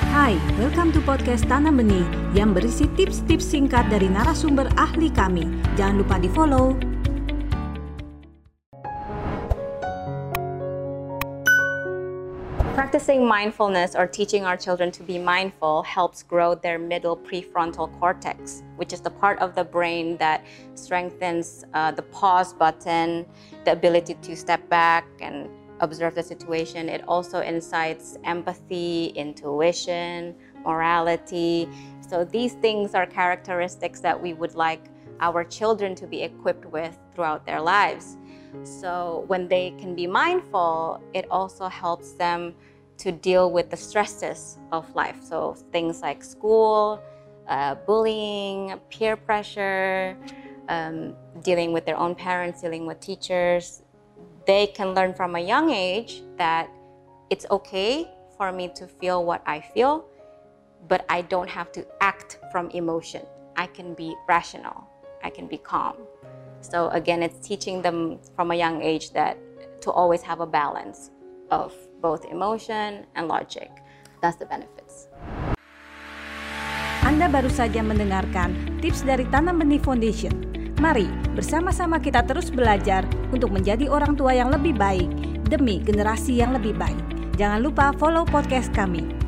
Hai, welcome to podcast Tanam Benih yang berisi tips-tips singkat dari narasumber ahli kami. Jangan lupa di-follow. Practicing mindfulness or teaching our children to be mindful helps grow their middle prefrontal cortex, which is the part of the brain that strengthens the pause button, the ability to step back and observe the situation. It also incites empathy, intuition, morality. So these things are characteristics that we would like our children to be equipped with throughout their lives. So when they can be mindful, it also helps them to deal with the stresses of life. So things like school, bullying, peer pressure, dealing with their own parents, dealing with teachers. They can learn from a young age that it's okay for me to feel what I feel, but I don't have to act from emotion. I can be rational. I can be calm. So again, it's teaching them from a young age that to always have a balance of both emotion and logic. That's the benefits. Anda baru saja mendengarkan tips dari Tanam Benih Foundation. Mari bersama-sama kita terus belajar untuk menjadi orang tua yang lebih baik demi generasi yang lebih baik. Jangan lupa follow podcast kami.